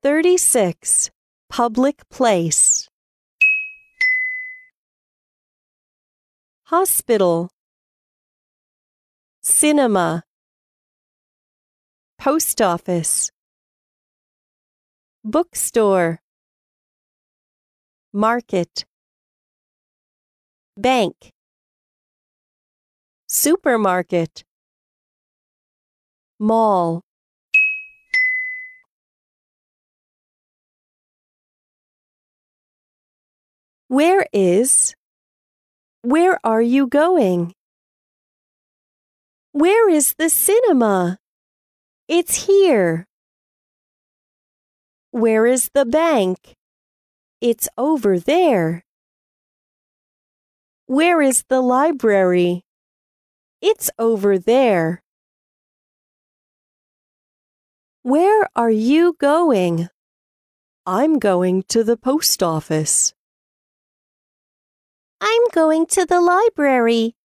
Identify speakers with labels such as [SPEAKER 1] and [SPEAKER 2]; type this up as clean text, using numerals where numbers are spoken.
[SPEAKER 1] 36. Public place. Hospital. Cinema. Post office. Bookstore. Market. Bank. Supermarket. Mall. Where are you going? Where is the cinema? It's here. Where is the bank? It's over there. Where is the library? It's over there. Where are you going? I'm going to the post office. I'm going to the library.